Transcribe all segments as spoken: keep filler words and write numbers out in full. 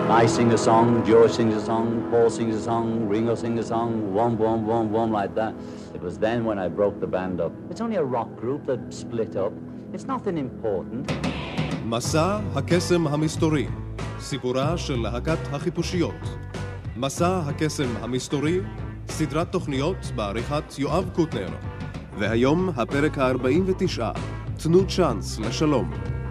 I sing a song, George sings a song, Paul sings a song, Ringo sings a song, one, one, one, one, like that. It was then when I broke the band up. It's only a rock group that split up. It's nothing important. מסע הקסם המסתורי, סיפורה של להקת החיפושיות. מסע הקסם המסתורי, סדרת תוכניות בעריכת יואב קוטנר. והיום הפרק ה-ארבעים ותשע, תנו צ'אנס לשלום.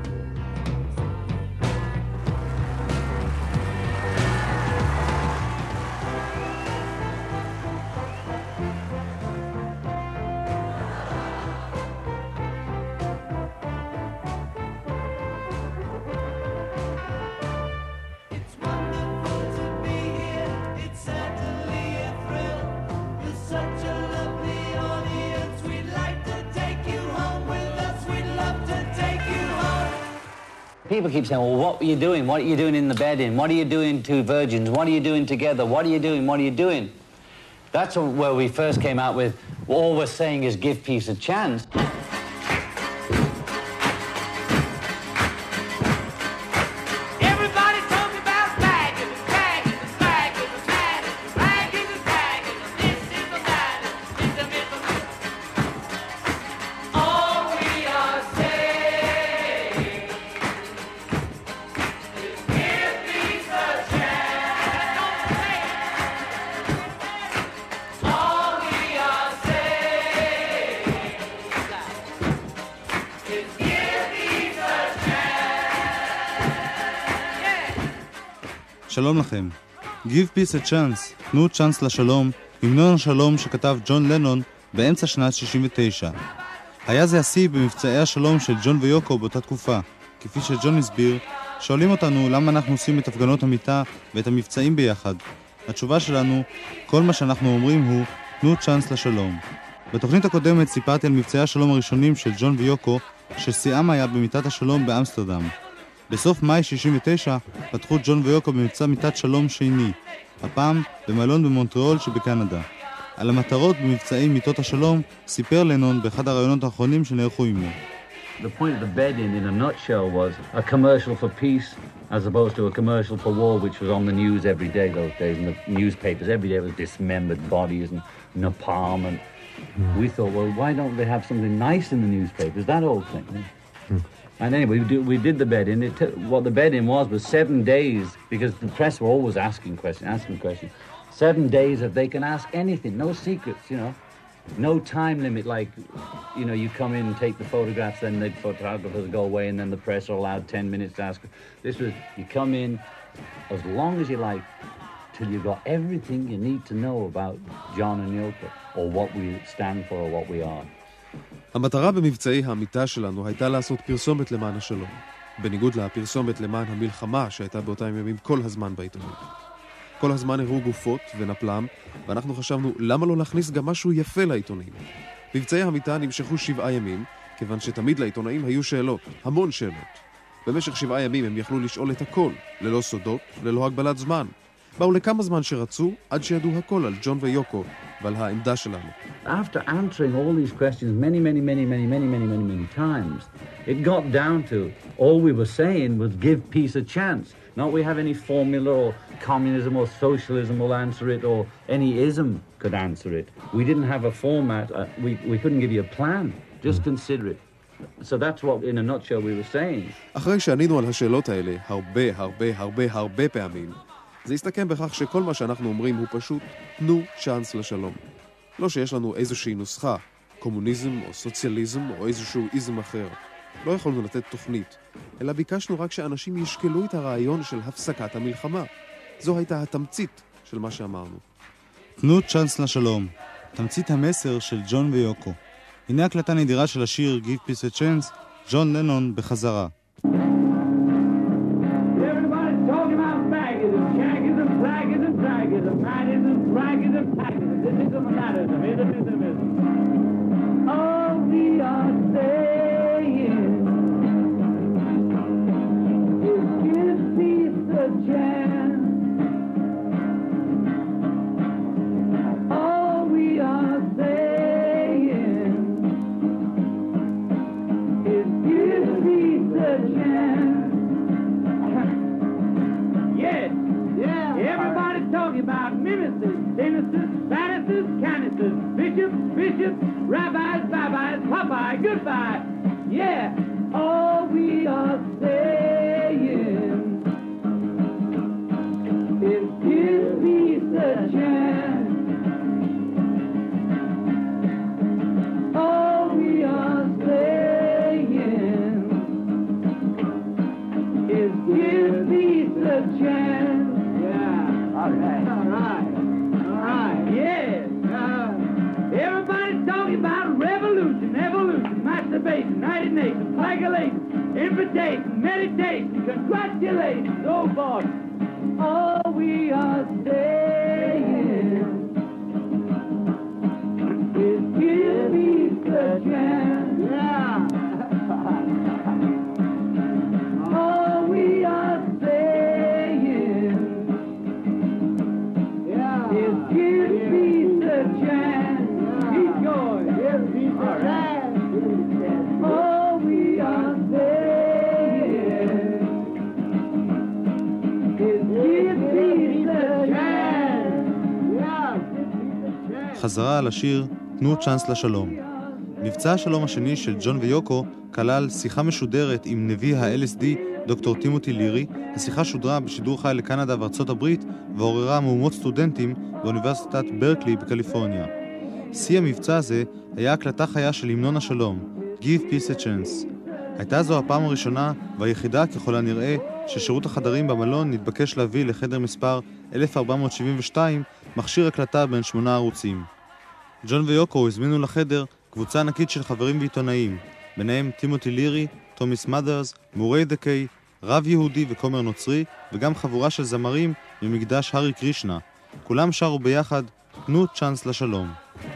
People keep saying, well, what are you doing? What are you doing in the bed in? What are you doing to virgins? What are you doing together? What are you doing? What are you doing? That's where we first came out with, all we're saying is give peace a chance. שלום לכם. Give peace a chance, תנו צ'אנס לשלום, המנון השלום שכתב ג'ון לנון באמצע שנת שישים ותשע. היה זה השיא במבצעי השלום של ג'ון ויוקו באותה תקופה. כפי שג'ון הסביר, שואלים אותנו למה אנחנו עושים את הפגנות המיטה ואת המבצעים ביחד. התשובה שלנו, כל מה שאנחנו אומרים הוא, תנו צ'אנס לשלום. בתוכנית הקודמת סיפרתי על מבצעי השלום הראשונים של ג'ון ויוקו, ששיאם היה במיטת השלום באמסטרדם. בסוף מאי שישים ותשע פתחו ג'ון ויוקו במבצע מיטת שלום שני, הפעם במלון במונטריאול שבקנדה. על המטרות במבצעי מיטות השלום סיפר לנון באחד הרעיונות האחרונים שנערכו עמו. The point of the bed-in, in a nutshell, was a commercial for peace as opposed to a commercial for war, which was on the news every day those days. And the newspapers every day was dismembered bodies and napalm. And mm. we thought, well, why don't they have something nice in the newspapers? That old thing. Mm. And anyway, we, do, we did the bed-in. It t- what the bed-in was was seven days, because the press were always asking questions, asking questions. Seven days that they can ask anything, no secrets, you know. No time limit, like, you know, you come in and take the photographs, then the photographers go away, and then the press are allowed ten minutes to ask. This was, you come in as long as you like, till you got everything you need to know about John and Yoko, or what we stand for, or what we are. המטרה במבצעי המיטה שלנו הייתה לעשות פרסומת למען השלום, בניגוד לפרסומת למען המלחמה שהייתה באותם ימים כל הזמן בעיתונות. כל הזמן הראו גופות ונפלם, ואנחנו חשבנו למה לא להכניס גם משהו יפה לעיתונים. מבצעי המיטה נמשכו שבעה ימים, כיוון שתמיד לעיתונאים היו שאלות, המון שאלות. במשך שבעה ימים הם יכלו לשאול את הכל, ללא סודות, ללא הגבלת זמן. באו לכמה זמן שרצו, עד שידעו הכל על ג'ון ויוקו ועל העמדה שלנו. After answering all these questions many, many, many, many, many, many, many, many times, it got down to all we were saying was give peace a chance. Not we have any formula or communism or socialism will answer it, or any ism could answer it. We didn't have a format. Uh, we, we couldn't give you a plan. Just consider it. So that's what, in a nutshell, we were saying. אחרי שענינו על השאלות האלה הרבה, הרבה, הרבה, הרבה פעמים, זה הסתכם בכך שכל מה שאנחנו אומרים הוא פשוט תנו צ'אנס לשלום. לא שיש לנו איזושהי נוסחה, קומוניזם או סוציאליזם או איזשהו איזם אחר. לא יכולנו לתת תוכנית, אלא ביקשנו רק שאנשים ישקלו את הרעיון של הפסקת המלחמה. זו הייתה התמצית של מה שאמרנו. תנו צ'אנס לשלום, תמצית המסר של ג'ון ויוקו. הנה הקלטה נדירה של השיר Give Peace a Chance, ג'ון לנון בחזרה. Yes. Bishop, Bishop, rabbis, babbis, Popeye, goodbye. Yeah, all we are saying is give peace a chance. All we are saying is give peace a chance. Yeah, all right, all right, all right, yeah. Uh, everybody's talking about revolution, evolution, masturbation, United Nations, flagellation, invitation, meditation, congratulations, oh boy. All we are saying is give peace a chance. Yeah. All we are saying yeah. is give peace a chance. Yeah. Keep going. Give peace a chance. All we are saying is give peace a chance. Yeah. חזרה על השיר תנו צ'אנס לשלום. מבצע השלום השני של ג'ון ויוקו כלל שיחה משודרת עם נביא ה-אל אס די דוקטור טימותי לירי. השיחה שודרה בשידור חי לקנדה וארצות הברית ועוררה מהומות סטודנטים באוניברסיטת ברקלי בקליפורניה. שיא המבצע הזה היה הקלטה חיה של המנון השלום, Give Peace a Chance. הייתה זו הפעם הראשונה והיחידה ככל הנראה ששירות החדרים במלון נתבקש להביא לחדר מספר אלף ארבע מאות שבעים ושתיים מכשיר הקלטה בין שמונה ערוצים. ג'ון ויוקו הזמינו לחדר קבוצה ענקית של חברים ועיתונאים, ביניהם טימותי לירי, תומיס מאדרס, מורי דקי, רב יהודי וכומר נוצרי, וגם חבורה של זמרים ממקדש הרי קרישנה. כולם שרו ביחד, תנו צ'אנס לשלום.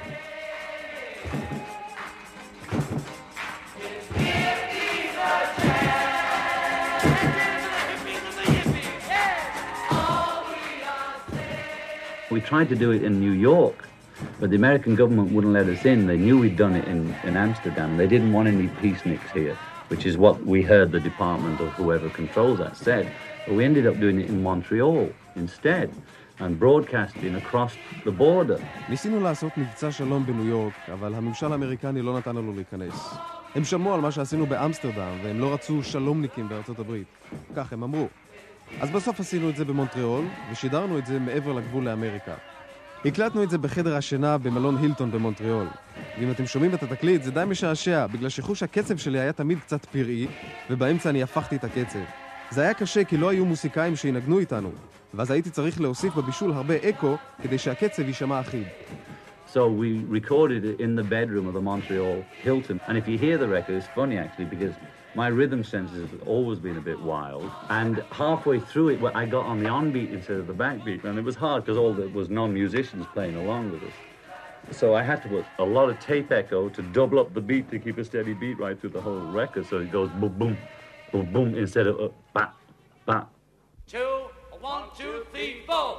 We tried to do it in New York, but the American government wouldn't let us in. They knew we'd done it in, in Amsterdam. They didn't want any peaceniks here, which is what we heard the department or whoever controls that said. But we ended up doing it in Montreal instead and broadcasting across the border. ניסינו לעשות מבצע שלום בניו יורק, אבל הממשל האמריקני לא נתן לנו להיכנס. הם שמעו על מה שעשינו באמסטרדם, והם לא רצו שלומניקים בארצות הברית. כך הם אמרו. אז בסוף עשינו את זה במונטריאול, ושידרנו את זה מעבר לגבול לאמריקה. הקלטנו את זה בחדר השינה במלון הילטון במונטריאול. ואם אתם שומעים את התקליט, זה די משעשע, בגלל שחוש הקצב שלי היה תמיד קצת פראי, ובאמצע אני הפכתי את הקצב. זה היה קשה כי לא היו מוסיקאים שינגנו איתנו, ואז הייתי צריך להוסיף בבישול הרבה אקו, כדי שהקצב יישמע אחיד. So we recorded it in the bedroom of the Montreal Hilton. And if you hear the record, it's funny actually, because my rhythm sense has always been a bit wild. And halfway through it, I got on the on-beat instead of the backbeat. And it was hard because all there was non-musicians playing along with us. So I had to put a lot of tape echo to double up the beat to keep a steady beat right through the whole record. So it goes boom, boom, boom, boom, instead of uh, ba, ba. Two, one, two, three, four.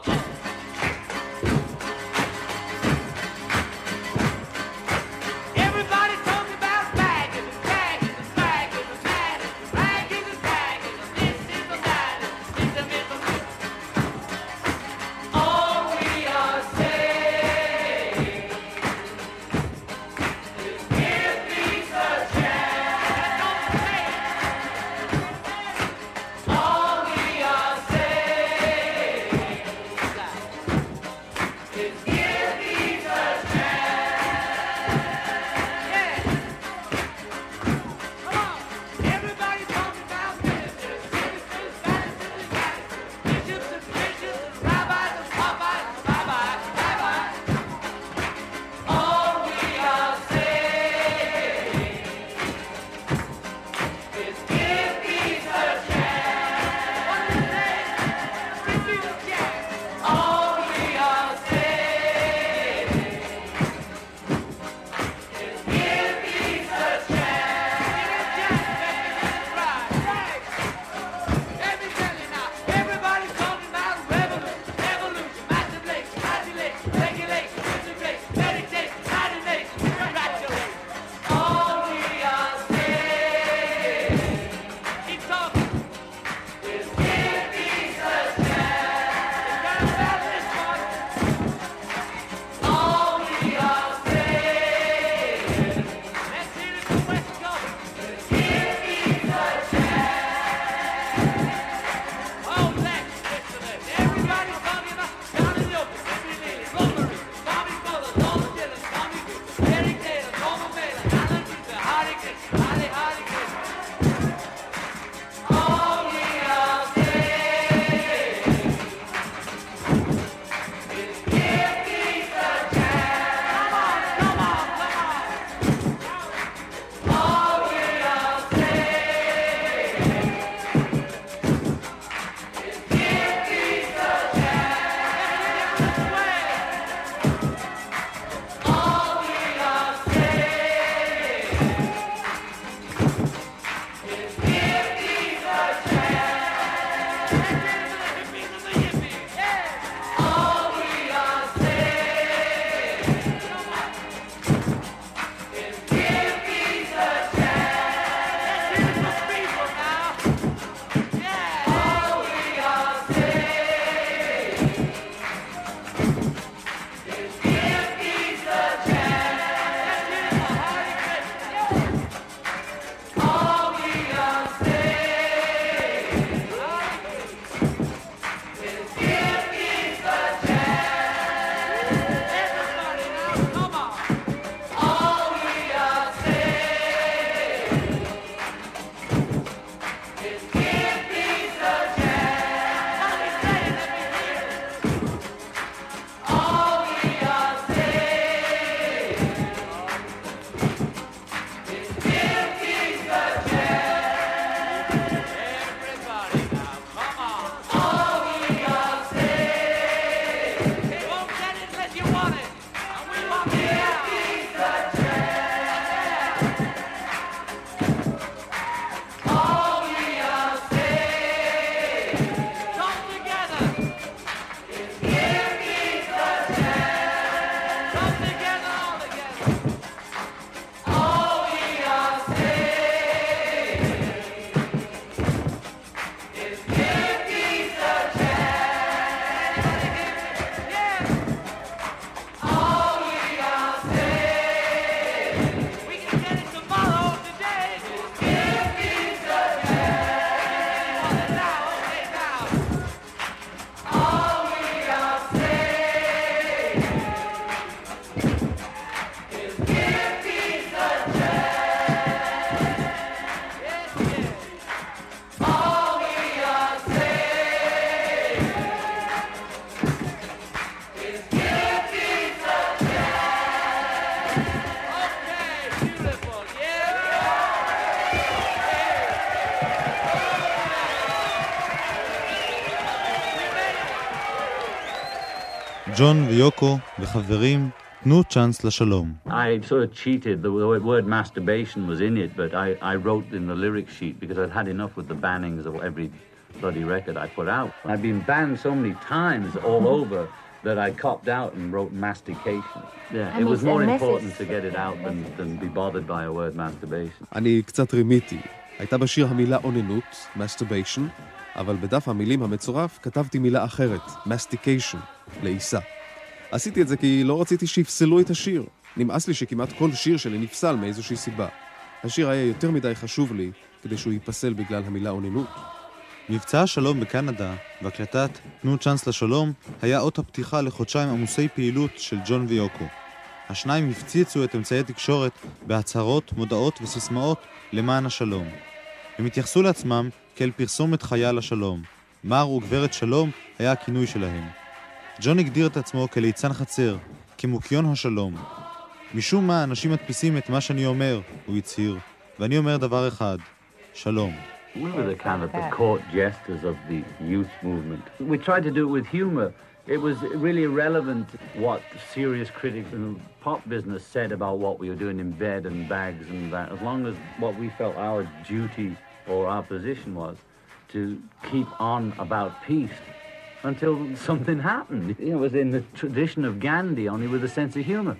ג'ון ויוקו וחברים, תנו צ'אנס לשלום. I sort of cheated. The word masturbation was in it, but I, I wrote in the lyric sheet because I'd had enough with the bannings of every bloody record I put out. I'd been banned so many times all over that I copped out and wrote mastication. Yeah, it was more important to get it out than, than be bothered by a word masturbation. אני קצת רימיתי. הייתה בשיר המילה אוננות, masturbation, אבל בדף המילים המצורף כתבתי מילה אחרת, mastication, לעיסה. עשיתי את זה כי לא רציתי שיפסלו את השיר. נמאס לי שכמעט כל שיר שלי נפסל מאיזושהי סיבה. השיר היה יותר מדי חשוב לי כדי שהוא ייפסל בגלל המילה אוננות. מבצע השלום בקנדה והקלטת תנו צ'אנס לשלום היה אות הפתיחה לחודשיים עמוסי פעילות של ג'ון ויוקו. השניים הפציצו את אמצעי תקשורת בהצהרות, מודעות וסיסמאות למען השלום. הם התייחסו לעצמם כאל פרסומת חיה לשלום. מר וגברת שלום היה הכינוי שלהם. ג'ון הגדיר את עצמו כליצן חצר, כמוקיון השלום. משום מה אנשים מדפיסים את מה שאני אומר, הוא הצהיר, ואני אומר דבר אחד, שלום. We were the kind of the court jesters of the youth movement. We tried to do it with humor. It was really irrelevant what serious critics in the pop business said about what we were doing in bed and bags and that, as long as what we felt our duty or our position was to keep on about peace until something happened. It was in the tradition of Gandhi, only with a sense of humor.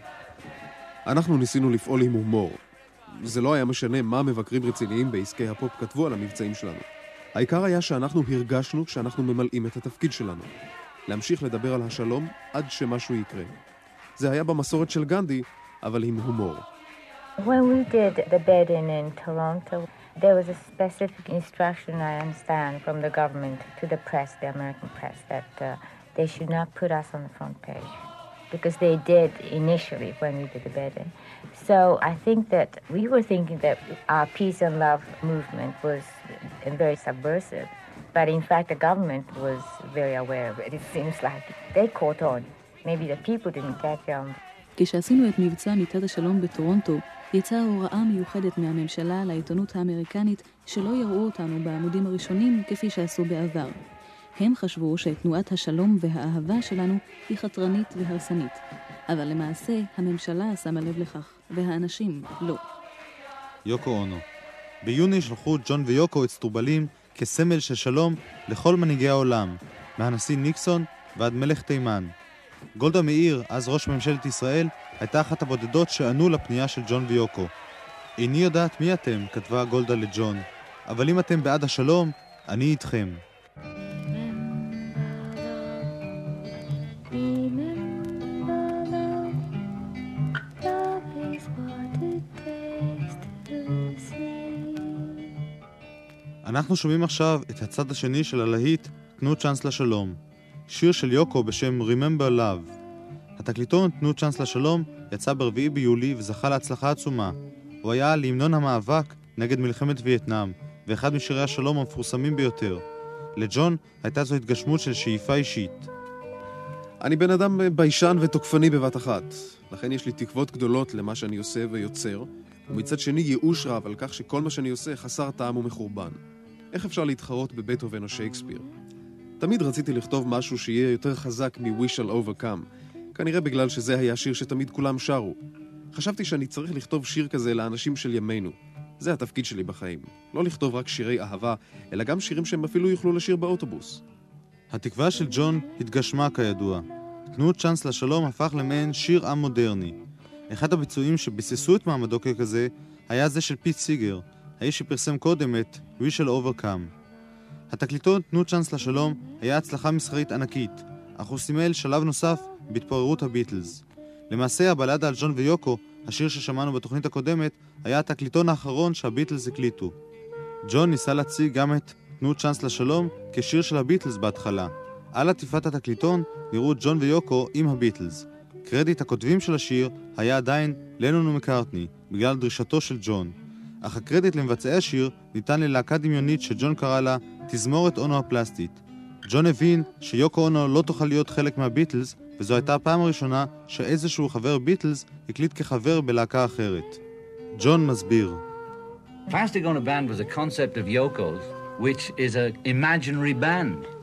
אנחנו ניסינו לפעול עם הומור. זה לא היה משנה מה מבקרים רציניים בעסקי הפופ כתבו על המבצעים שלנו. העיקר היה שאנחנו הרגשנו שאנחנו ממלאים את התפקיד שלנו. להמשיך לדבר על השלום עד שמשהו יקרה. זה היה במסורת של גנדי, אבל עם הומור. When we did the bed-in in Toronto, there was a specific instruction, I understand, from the government to the press, the American press, that uh, they should not put us on the front page. Because they did initially when we did the bed-in. So I think that we were thinking that our peace and love movement was very subversive. But in fact, the government was very aware of it. It seems like they caught on. Maybe the people didn't catch on. כשעשינו את מבצע מיטת השלום בטורונטו, יצאה הוראה מיוחדת מהממשלה לעיתונות האמריקנית שלא יראו אותנו בעמודים הראשונים כפי שעשו בעבר. הם חשבו שתנועת השלום והאהבה שלנו היא חתרנית והרסנית. אבל למעשה הממשלה שמה לב לכך, והאנשים לא. יוקו אונו. ביוני שלחו ג'ון ויוקו אצטרובלים כסמל של שלום לכל מנהיגי העולם, מהנשיא ניקסון ועד מלך תימן. גולדה מאיר, אז ראש ממשלת ישראל, הייתה אחת הבודדות שענו לפנייה של ג'ון ויוקו. איני יודעת מי אתם, כתבה גולדה לג'ון, אבל אם אתם בעד השלום, אני איתכם. אנחנו שומעים עכשיו את הצד השני של הלהיט תנו צ'אנס לשלום, שיר של יוקו בשם Remember Love. התקליטון תנו צ'אנס לשלום יצא ברביעי ביולי וזכה להצלחה עצומה. הוא היה להמנון המאבק נגד מלחמת וייטנאם, ואחד משירי השלום המפורסמים ביותר. לג'ון הייתה זו התגשמות של שאיפה אישית. אני בן אדם ביישן ותוקפני בבת אחת, לכן יש לי תקוות גדולות למה שאני עושה ויוצר, ומצד שני ייאוש רב על כך שכל מה שאני עושה חסר טעם ומחורבן. איך אפשר להתחרות בבטהובן או שייקספיר? תמיד רציתי לכתוב משהו שיהיה יותר חזק מ-We Shall Overcome, כנראה בגלל שזה היה שיר שתמיד כולם שרו. חשבתי שאני צריך לכתוב שיר כזה לאנשים של ימינו. זה התפקיד שלי בחיים. לא לכתוב רק שירי אהבה, אלא גם שירים שהם אפילו יוכלו לשיר באוטובוס. התקווה של ג'ון התגשמה כידוע. תנו צ'אנס לשלום הפך למעין שיר עם מודרני. אחד הביצועים שביססו את מעמדו ככזה היה זה של פיט סיגר, האיש שפרסם קודם את We Shall Overcome. התקליטון תנו צ'אנס לשלום היה הצלחה מסחרית ענקית, אך הוא סימל שלב נוסף בהתפוררות הביטלס. למעשה הבלדה על ג'ון ויוקו, השיר ששמענו בתוכנית הקודמת, היה התקליטון האחרון שהביטלס הקליטו. ג'ון ניסה להציג גם את תנו צ'אנס לשלום כשיר של הביטלס בהתחלה. על עטיפת התקליטון נראו ג'ון ויוקו עם הביטלס. קרדיט הכותבים של השיר היה עדיין לנון ומקארטני, בגלל דרישתו של ג'ון. אך הקרדיט למבצעי השיר ניתן ללהקה דמיונית שג'ון קרא לה תזמורת אונו הפלסטית. ג'ון הבין שיוקו אונו לא תוכל להיות חלק מהביטלס, וזו הייתה הפעם הראשונה שאיזשהו חבר ביטלס הקליט כחבר בלהקה אחרת. ג'ון מסביר. Plastic Ono Band was a concept of Yoko's, which is an imaginary band.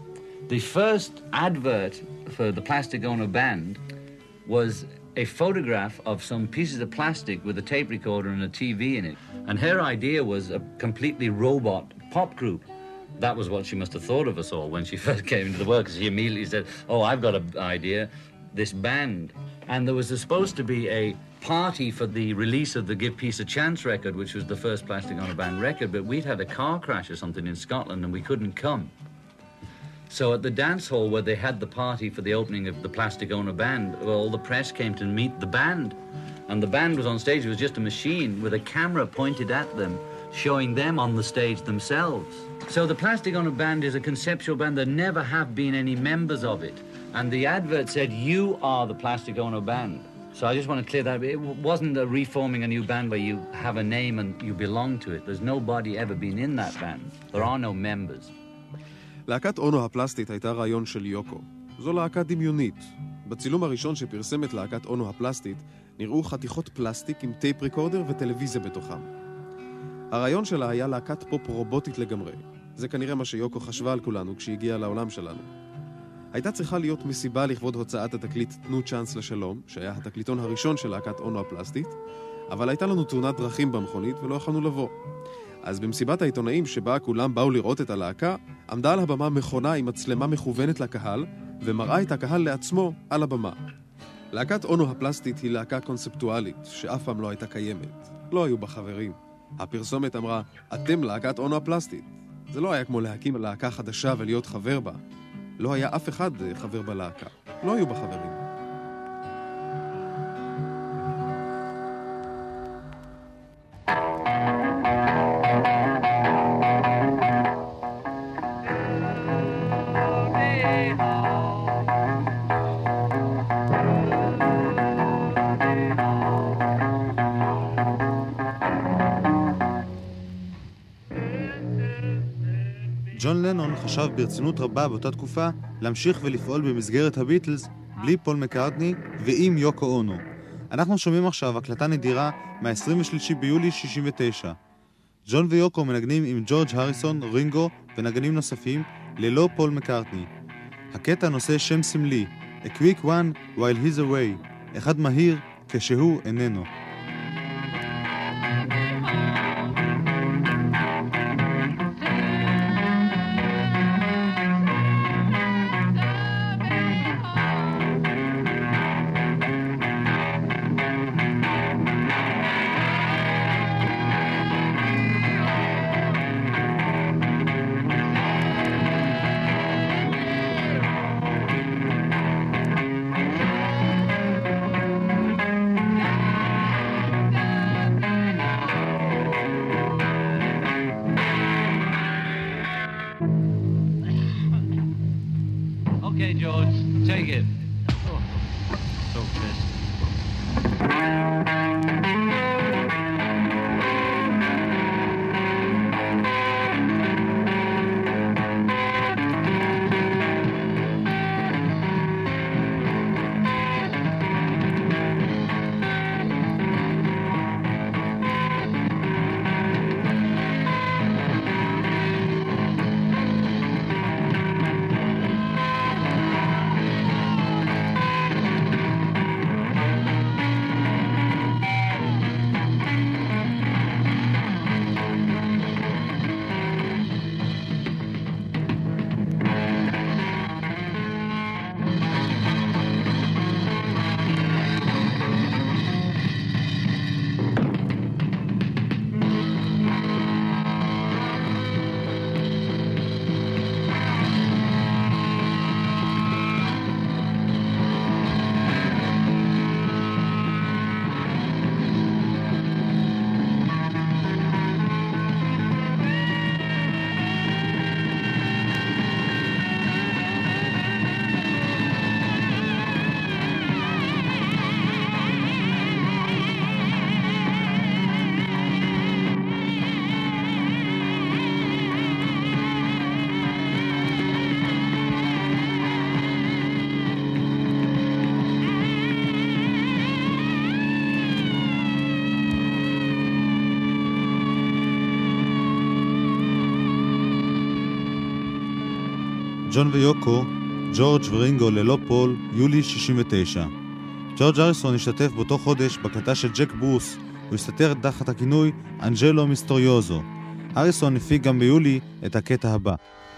The first advert for the Plastic Ono Band was a photograph of some pieces of plastic with a tape recorder and a T V in it. And her idea was a completely robot pop group. That was what she must have thought of us all when she first came into the world, because she immediately said, oh, I've got an idea, this band. And there was supposed to be a party for the release of the Give Peace a Chance record, which was the first Plastic Ono Band record, but we'd had a car crash or something in Scotland and we couldn't come. So at the dance hall where they had the party for the opening of the Plastic Ono Band, well, all the press came to meet the band. And the band was on stage. It was just a machine with a camera pointed at them, showing them on the stage themselves. So the Plastic Ono Band is a conceptual band. There never have been any members of it. And the advert said, you are the Plastic Ono Band. So I just want to clear that. It wasn't a reforming a new band where you have a name and you belong to it. There's nobody ever been in that band. There are no members. להקת אונו הפלסטית הייתה רעיון של יוקו. זו להקה דמיונית. בצילום הראשון שפרסם את להקת אונו הפלסטית, נראו חתיכות פלסטיק עם טייפ ריקורדר וטלוויזיה בתוכם. הרעיון שלה היה להקת פופ רובוטית לגמרי. זה כנראה מה שיוקו חשבה על כולנו כשהגיעה לעולם שלנו. הייתה צריכה להיות מסיבה לכבוד הוצאת התקליט תנו צ'אנס לשלום, שהיה התקליטון הראשון של להקת אונו הפלסטית, אבל הייתה לנו תאונת דרכים במכונית ולא יכולנו לבוא. אז במסיבת העיתונאים שבה כולם באו לראות את הלהקה, עמדה על הבמה מכונה עם מצלמה מכוונת לקהל, ומראה את הקהל לעצמו על הבמה. להקת אונו הפלסטית היא להקה קונספטואלית, שאף פעם לא הייתה קיימת. לא היו בה חברים. הפרסומת אמרה, אתם להקת אונו הפלסטית. זה לא היה כמו להקים להקה חדשה ולהיות חבר בה. לא היה אף אחד חבר בלהקה. לא היו בה חברים. ג'ון לנון חשב ברצינות רבה באותה תקופה להמשיך ולפעול במסגרת הביטלס בלי פול מקארטני ועם יוקו אונו. אנחנו שומעים עכשיו הקלטה נדירה מה-עשרים ושלושה ביולי שישים ותשע. ג'ון ויוקו מנגנים עם ג'ורג' הריסון, רינגו ונגנים נוספים ללא פול מקארטני. הקטע נושא שם סמלי, A quick one while he's away, אחד מהיר כשהוא איננו. Okay, George, take it. Oh, so pissed. ג'ון ויוקו, ג'ורג' ורינגו ללא פול, יולי שישים ותשע. ג'ורג' הריסון השתתף באותו חודש בהקלטה של ג'ק ברוס, הוא הסתתר תחת הכינוי אנג'לו מיסטריוזו. הריסון הפיק גם ביולי את הקטע הבא.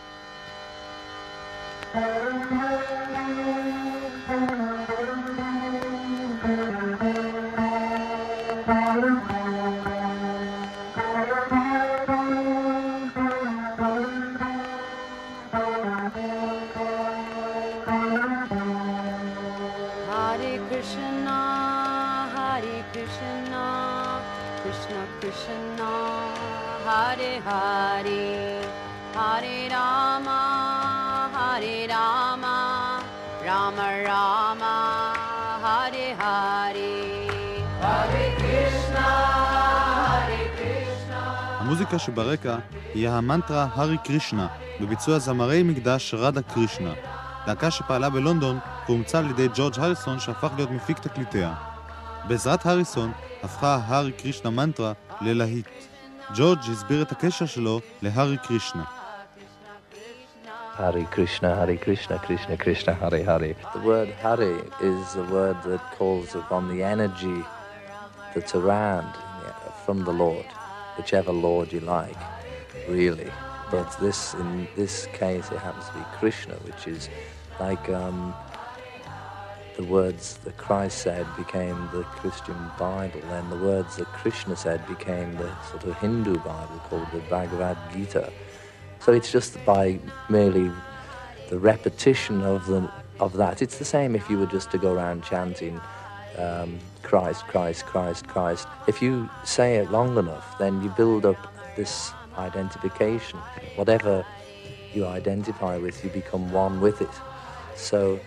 המוזיקה שברקע היא המנטרה הרי קרישנה, בביצוע זמרי מקדש רדה קרישנה, להקה שפעלה בלונדון והומצא על ידי ג'ורג' הריסון שהפך להיות מפיק תקליטיה. בעזרת הריסון הפכה הרי קרישנה מנטרה ללהיט. ג'ורג' הסביר את הקשר שלו להרי קרישנה. Hare Krishna, Hare Krishna, Krishna Krishna, Hare Hare. The word Hare is a word that calls upon the energy that's around from the Lord, whichever Lord you like, really. But this, in this case, it happens to be Krishna, which is like um, the words that Christ said became the Christian Bible, and the words that Krishna said became the sort of Hindu Bible called the Bhagavad Gita. So it's just by merely the repetition of the of that. It's the same if you were just to go around chanting um, Christ, Christ, Christ, Christ. If you say it long enough, then you build up this identification. Whatever you identify with, you become one with it. So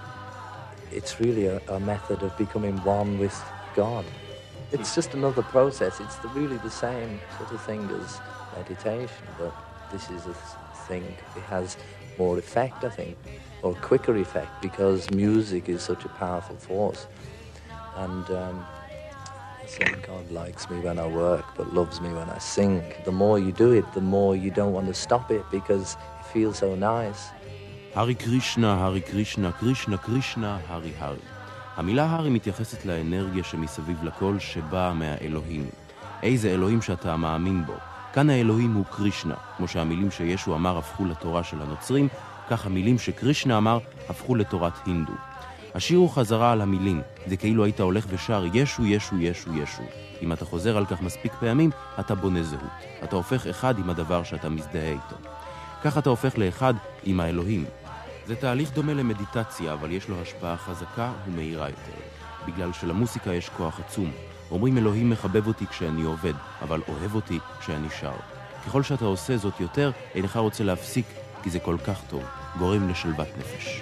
it's really a, a method of becoming one with God. It's just another process. It's the, really the same sort of thing as meditation, but this is a thing, it has more effect, I think, or quicker effect, because music is such a powerful force. And um, I think God likes me when I work, but loves me when I sing. The more you do it, the more you don't want to stop it, because it feels so nice. Hare Krishna, Hare Krishna, Krishna Krishna, Hare Hare. המילה הרי מתייחסת לאנרגיה שמסביב לכל שבאה מהאלוהים. איזה אלוהים שאתה מאמין בו. כאן האלוהים הוא קרישנה, כמו שהמילים שישו אמר הפכו לתורה של הנוצרים, כך המילים שקרישנה אמר הפכו לתורת הינדו. השיר הוא חזרה על המילים, זה כאילו היית הולך ושר ישו, ישו, ישו, ישו. אם אתה חוזר על כך מספיק פעמים, אתה בונה זהות. אתה הופך אחד עם הדבר שאתה מזדהה איתו. כך אתה הופך לאחד עם האלוהים. זה תהליך דומה למדיטציה, אבל יש לו השפעה חזקה ומהירה יותר. בגלל שלמוסיקה יש כוח עצום. אומרים אלוהים מחבב אותי כשאני עובד, אבל אוהב אותי כשאני שר. ככל שאתה עושה זאת יותר, אינך רוצה להפסיק, כי זה כל כך טוב. גורם לשלוות נפש.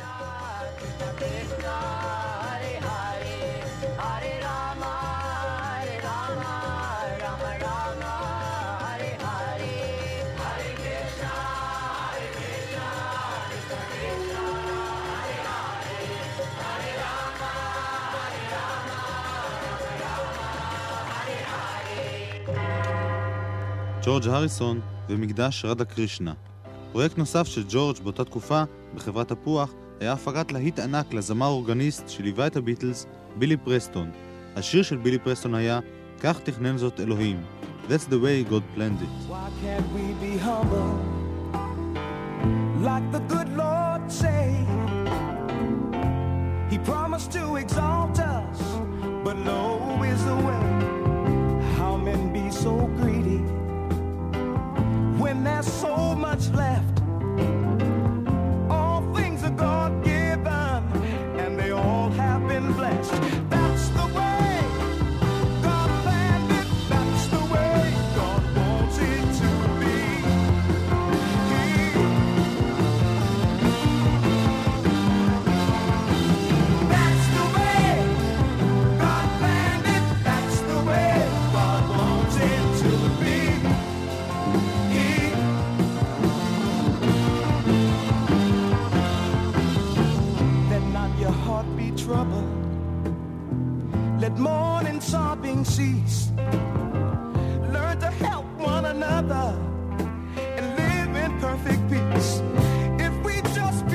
ג'ורג' הריסון ומקדש רדה קרישנה. פרויקט נוסף של ג'ורג' באותה תקופה, בחברת תפוח, היה הפקת להיט ענק לזמר אורגניסט שליווה את הביטלס, בילי פרסטון. השיר של בילי פרסטון היה כך תכנן זאת אלוהים. That's the way God planned it. Why can't we be humble like the good Lord say? He promised to exalt us, but low is the way. How men be so greedy when there's so much left. All things are God-given, and they all have been blessed. That's the way God planned it. That's the way God wants it to be. That's the way God planned it. That's the way God wants it to be. Trouble. Let mourning, sobbing cease. Learn to help one another and live in perfect peace. If we just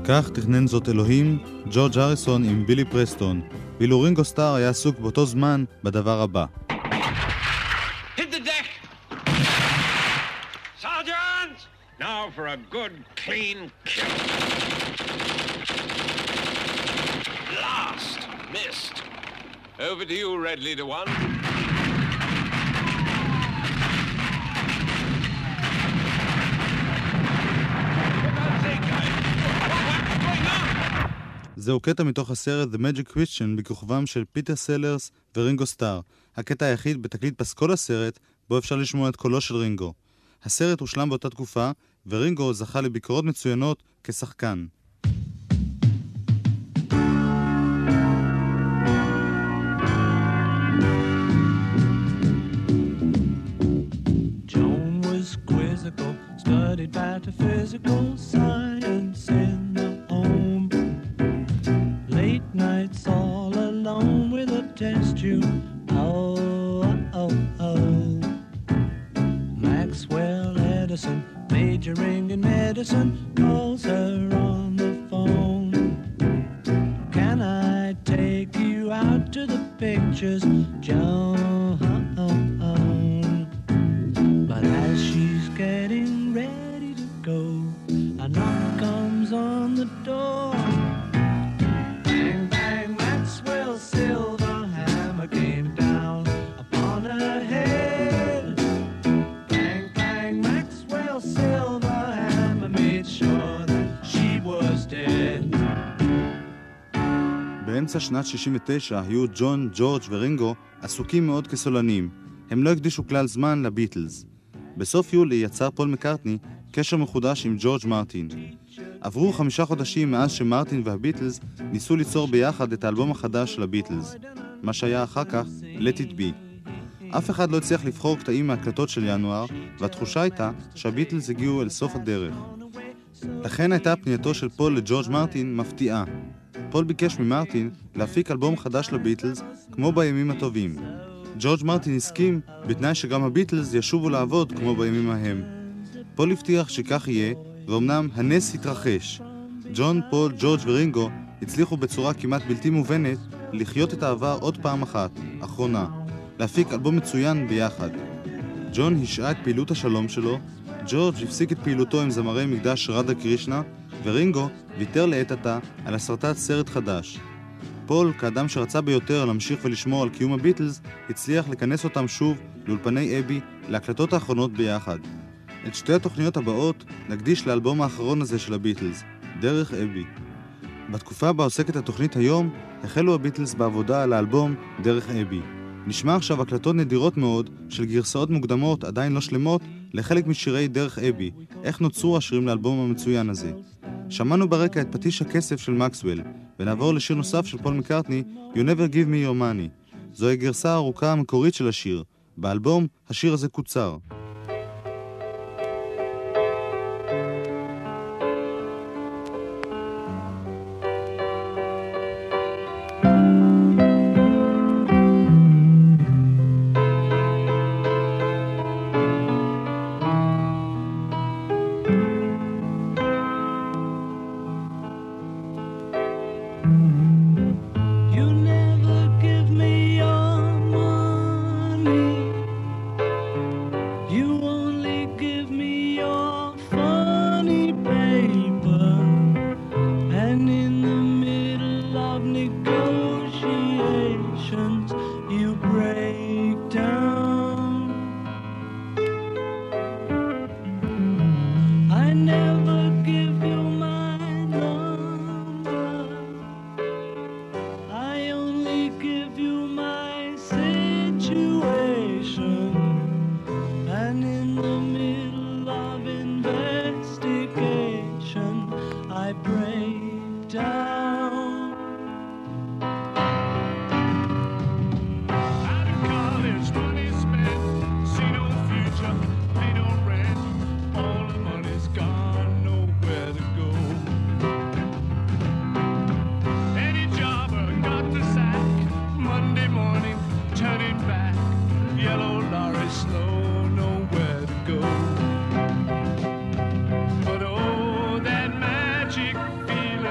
כך תכנן זאת אלוהים, ג'ורג' הריסון עם בילי פרסטון, ואילו רינגו סטאר היה עסוק באותו זמן בדבר הבא. Hit the deck! Sergeant! Now for a good, clean kill. Last! Missed. Over to you, Red Leader One. זהו קטע מתוך הסרט The Magic Christian בכוכבם של פיטר סלרס ורינגו סטאר, הקטע היחיד בתקליט פסקול הסרט בו אפשר לשמוע את קולו של רינגו. הסרט הושלם באותה תקופה, ורינגו זכה לביקורות מצוינות כשחקן. Joan was quizzical, studied metaphysical science in the home. Late nights all alone with a test tube. Oh, oh, oh. Maxwell Edison, majoring in medicine, calls her on the phone. Can I take you out to the pictures, Joan? But as she's getting ready to go, a knock comes on the door. Bang, bang, Maxwell's silver hammer came down upon her head. Bang, bang, Maxwell's silver hammer made sure that she was dead. באמצע שנת שישים ותשע היו ג'ון, ג'ורג' ורינגו עסוקים מאוד כסולנים. הם לא הקדישו כלל זמן לביטלס. בסוף יולי יצר פול מקרטני קשר מחודש עם ג'ורג' מרטין. עברו חמישה חודשים מאז שמרטין והביטלס ניסו ליצור ביחד את האלבום החדש של הביטלס, מה שהיה אחר כך Let It Be. אף אחד לא הצליח לבחור קטעים מהקלטות של ינואר, והתחושה הייתה שהביטלס הגיעו אל סוף הדרך. לכן הייתה פנייתו של פול לג'ורג' מרטין מפתיעה. פול ביקש ממרטין להפיק אלבום חדש לביטלס כמו בימים הטובים. ג'ורג' מרטין הסכים בתנאי שגם הביטלס ישובו לעבוד כמו בימים ההם. פול הבטיח שכך יהיה, ואומנם הנס התרחש. ג'ון, פול, ג'ורג' ורינגו הצליחו בצורה כמעט בלתי מובנת לחיות את העבר עוד פעם אחת, אחרונה, להפיק אלבום מצוין ביחד. ג'ון השעה את פעילות השלום שלו, ג'ורג' הפסיק את פעילותו עם זמרי מקדש רדה קרישנה, ורינגו ויתר לעת עתה על הסרטת סרט חדש. פול, כאדם שרצה ביותר להמשיך ולשמור על קיום הביטלס, הצליח לכנס אותם שוב לאולפני אבי להקלטות האחרונות ביחד. את שתי התוכניות הבאות נקדיש לאלבום האחרון הזה של הביטלס, דרך אבי. בתקופה בה עוסקת התוכנית היום, החלו הביטלס בעבודה על האלבום דרך אבי. נשמע עכשיו הקלטות נדירות מאוד של גרסאות מוקדמות עדיין לא שלמות לחלק משירי דרך אבי, איך נוצרו השירים לאלבום המצוין הזה. שמענו ברקע את פטיש הכסף של מקסוול, ונעבור לשיר נוסף של פול מקרטני, You Never Give Me Your Money. זוהי הגרסה הארוכה המקורית של השיר. באלבום השיר הזה קוצר. Feel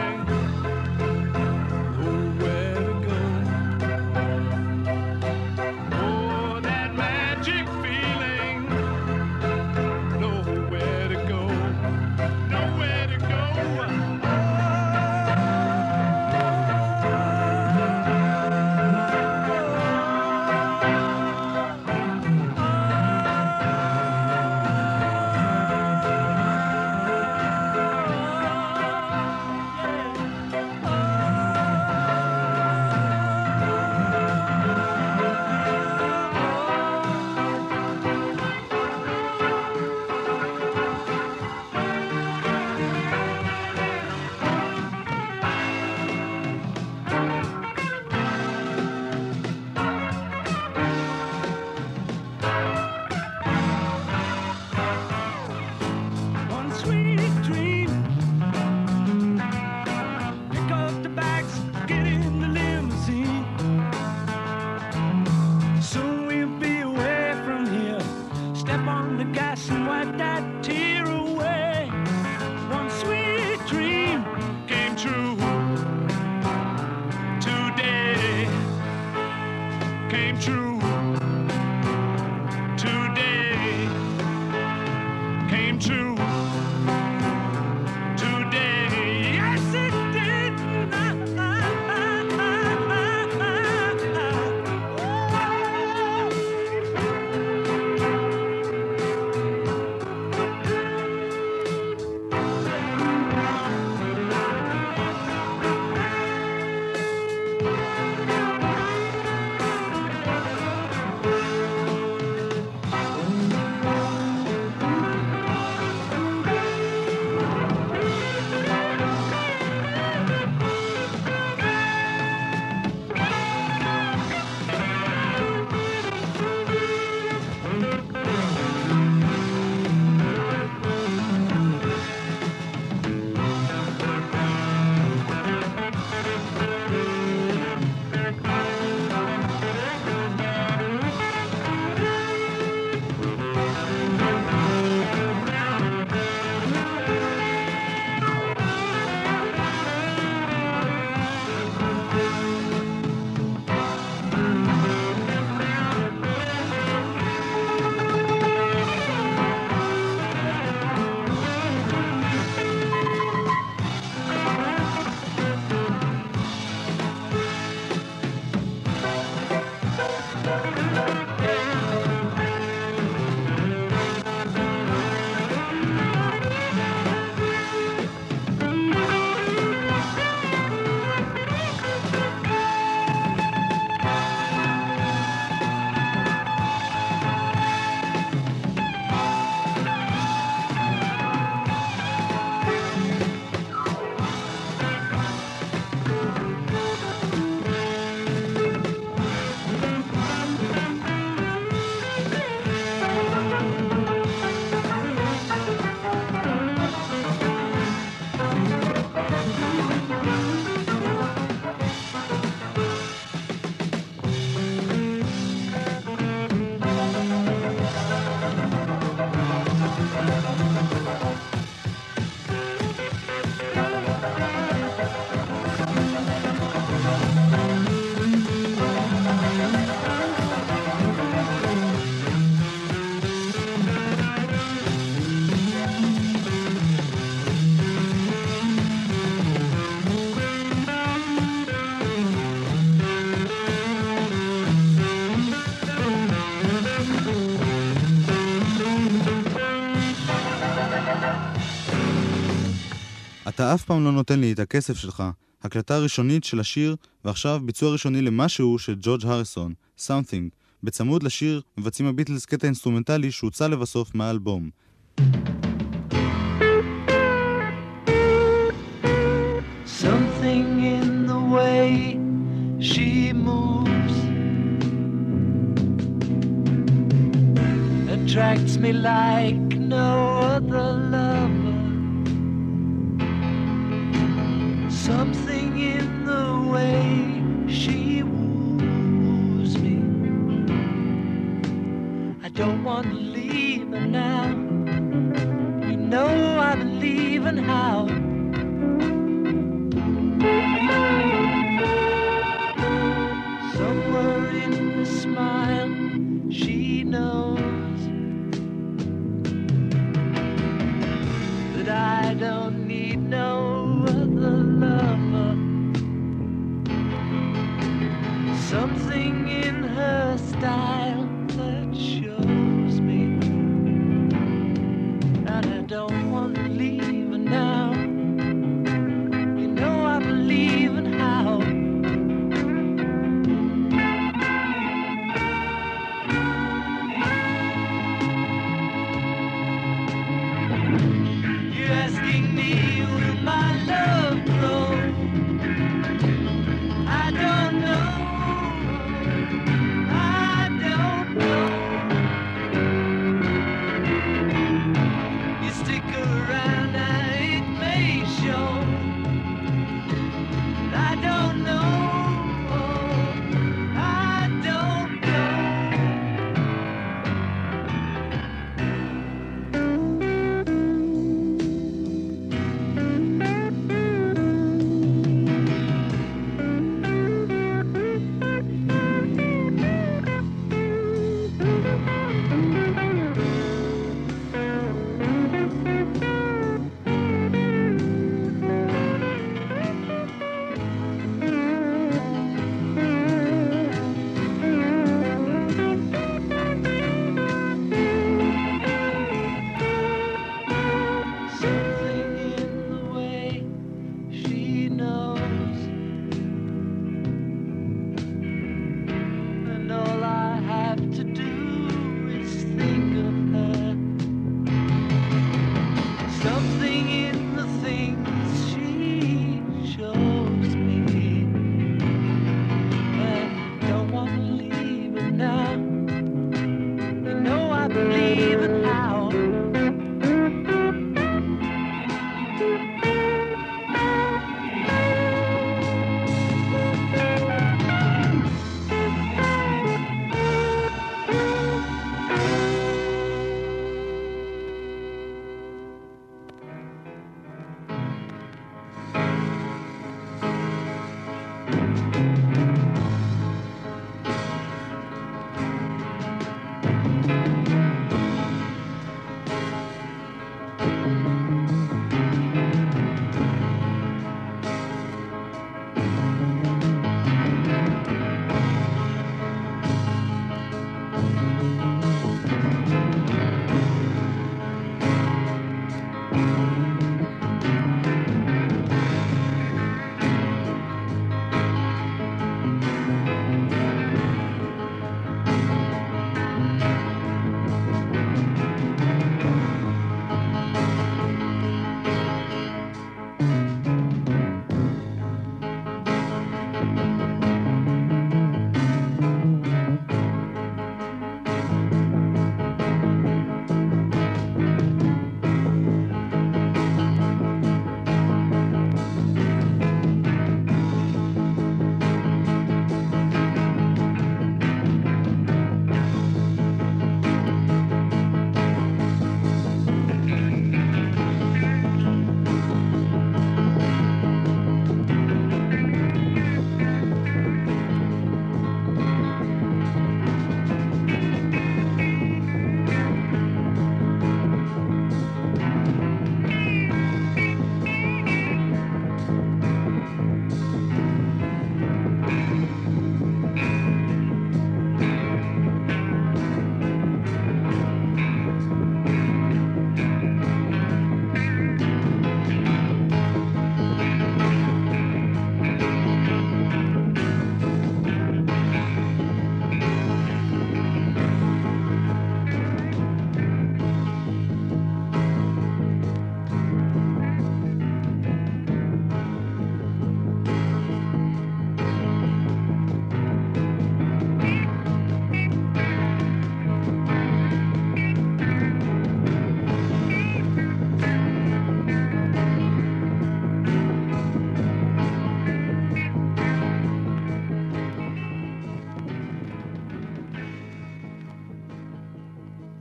אתה אף פעם לא נותן לי את הכסף שלך. הקלטה ראשונית של השיר, ועכשיו ביצוע ראשוני למשהו של ג'ורג' הריסון, Something. בצמוד לשיר מבצעים הביטלס קטע אינסטרומנטלי שהוצא לבסוף מהאלבום. Something in the way she moves attracts me like no other lover. Something in the way she woos me. I don't want to leave her now. You know I believe in how. Somewhere in the smile she knows that I don't need no other lover. Something in her style that shows me that I don't want to leave her now. You know I believe in how. You're asking me, will my love grow? I don't know. I don't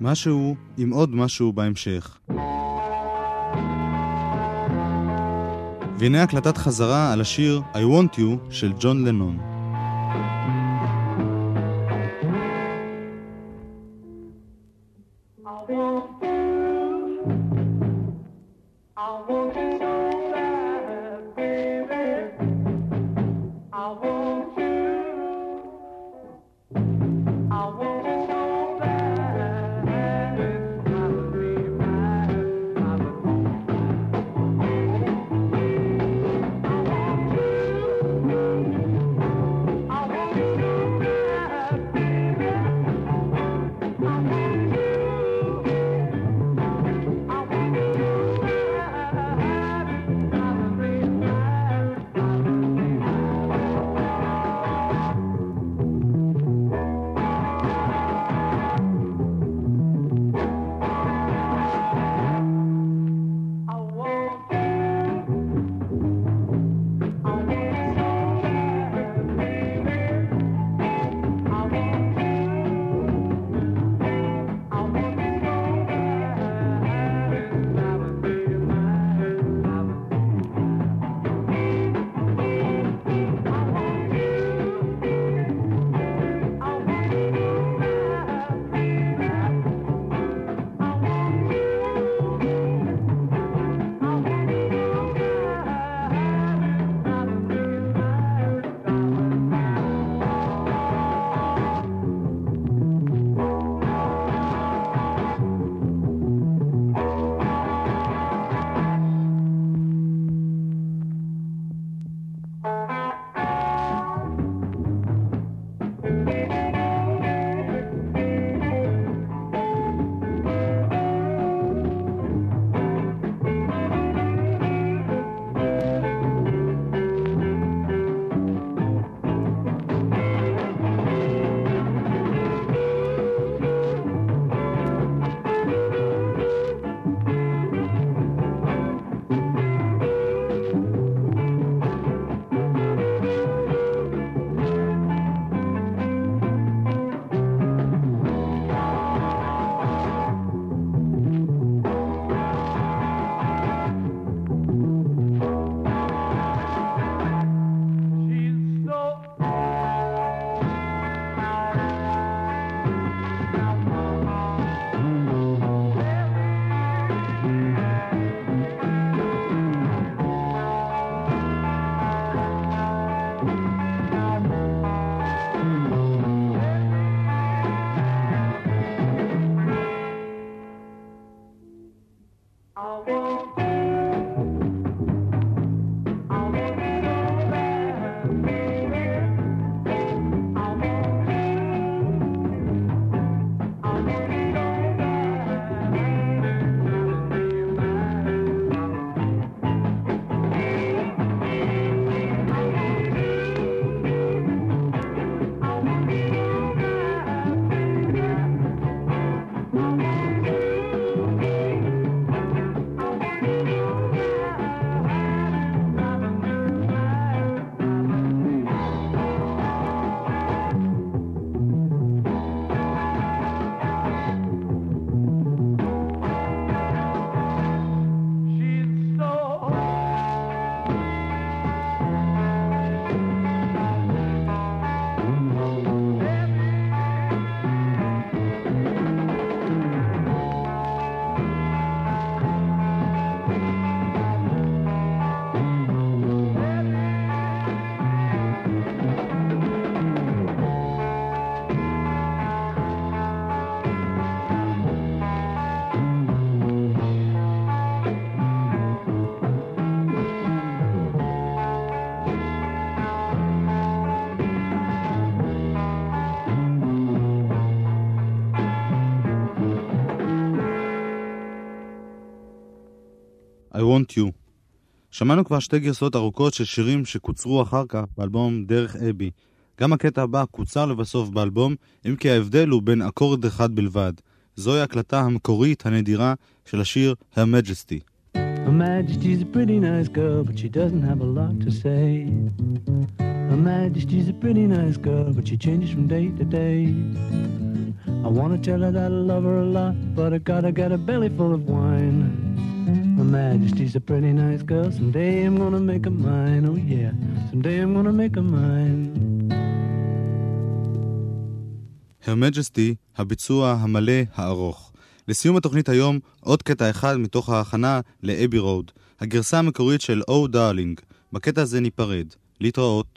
משהו עם עוד משהו בהמשך. והנה הקלטת חזרה על השיר I Want You של ג'ון לנון. I Want You. שמענו כבר שתי גרסאות ארוכות של שירים שקוצרו אחר כך באלבום דרך אבי. גם הקטע הבא קוצר לבסוף באלבום, אם כי ההבדל הוא בין אקורד אחד בלבד. זוהי הקלטה המקורית הנדירה של השיר Her Majesty. Her Majesty's a pretty nice girl, but she doesn't have a lot to say. Her Majesty's a pretty nice girl, but she changes from day to day. I want to tell her that I love her a lot, but I gotta get a belly full of wine. Her Majesty's a pretty nice girl, someday I'm gonna make her mine, oh yeah, someday I'm gonna make her mine. Her Majesty, הביצוע המלא הארוך. לסיום התוכנית היום, עוד קטע אחד מתוך ההכנה לאבי רוד, הגרסה המקורית של Oh Darling. בקטע הזה ניפרד. להתראות.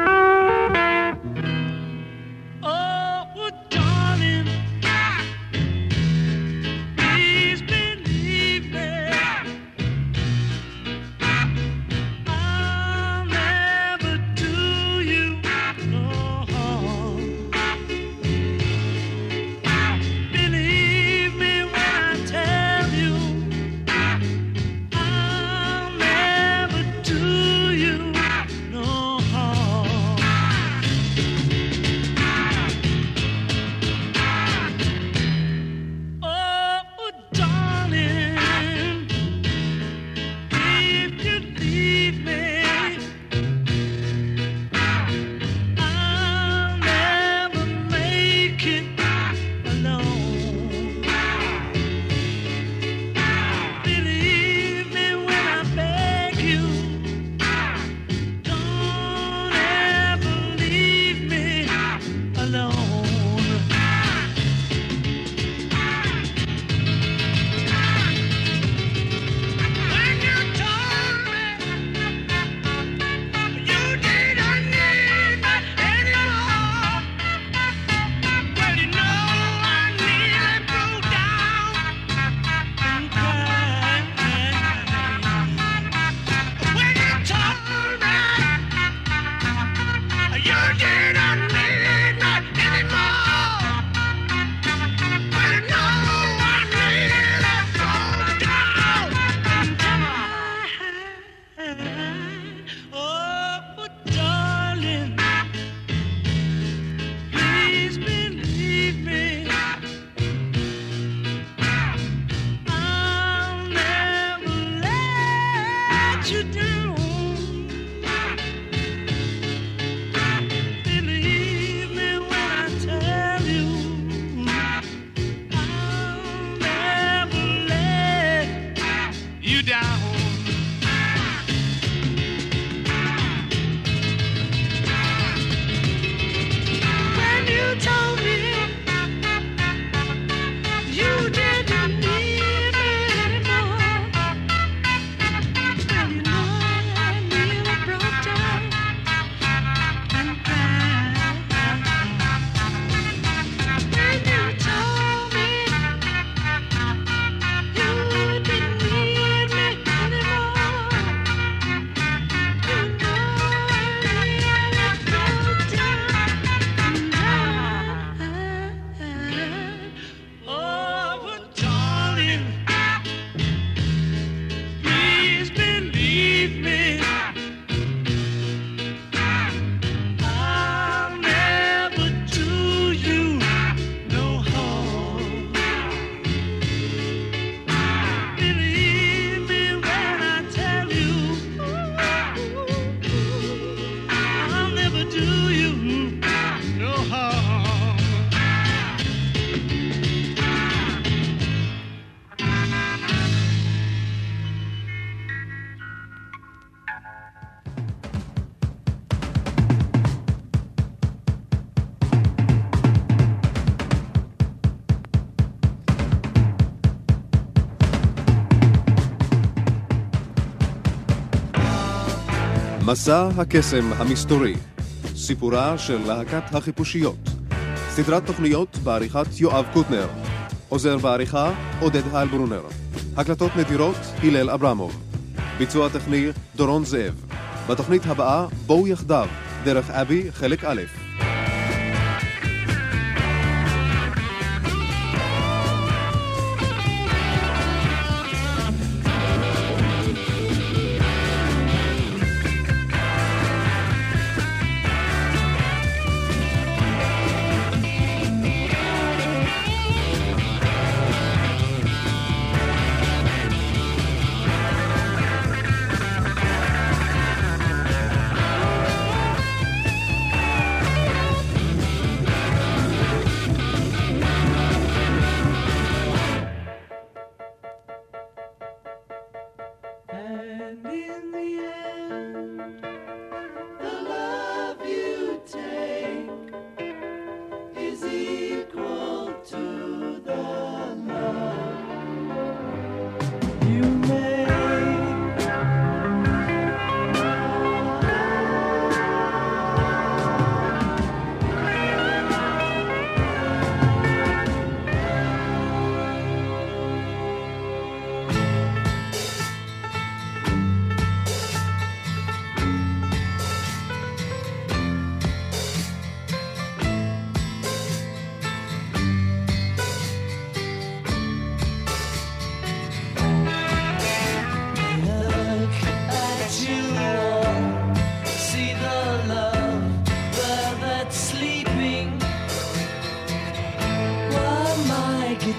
מסע הקסם המסתורי, סיפורה של להקת החיפושיות, סדרת תוכניות בעריכת יואב קוטנר, עוזר בעריכה עודד הלברונר, הקלטות נדירות הלל אברמוב, ביצוע טכני דורון זאב. בתוכנית הבאה בואו יחדיו, דרך אבי חלק א'.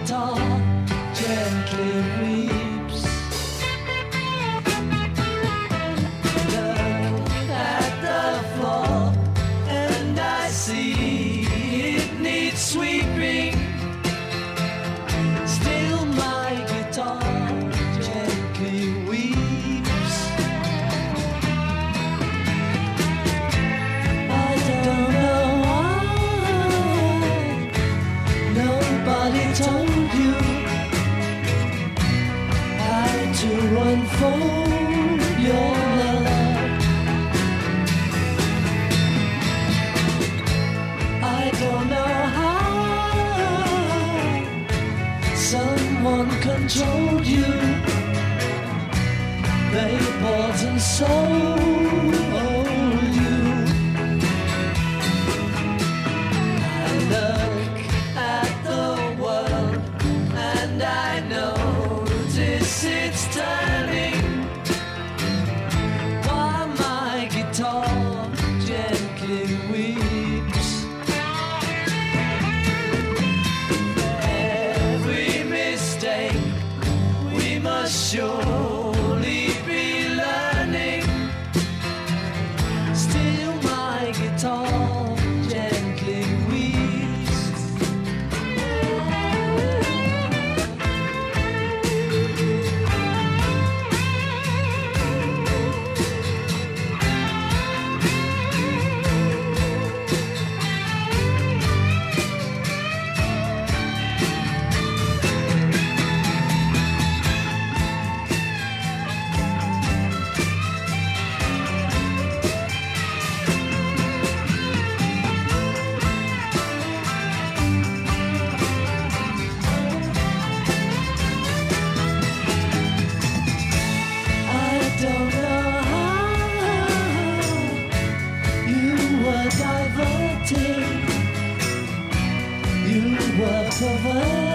guitar gently weeps. Look at the floor and I see it needs sweeping. Still my guitar gently weeps. I don't know why nobody told you how to unfold your love. I don't know how someone controlled you. They bought and sold you. I look at the world and I notice it's turning while my guitar gently weeps. Every mistake we must surely be learning. Still my guitar gently weeps. I don't know how you were diverted, you were perverted.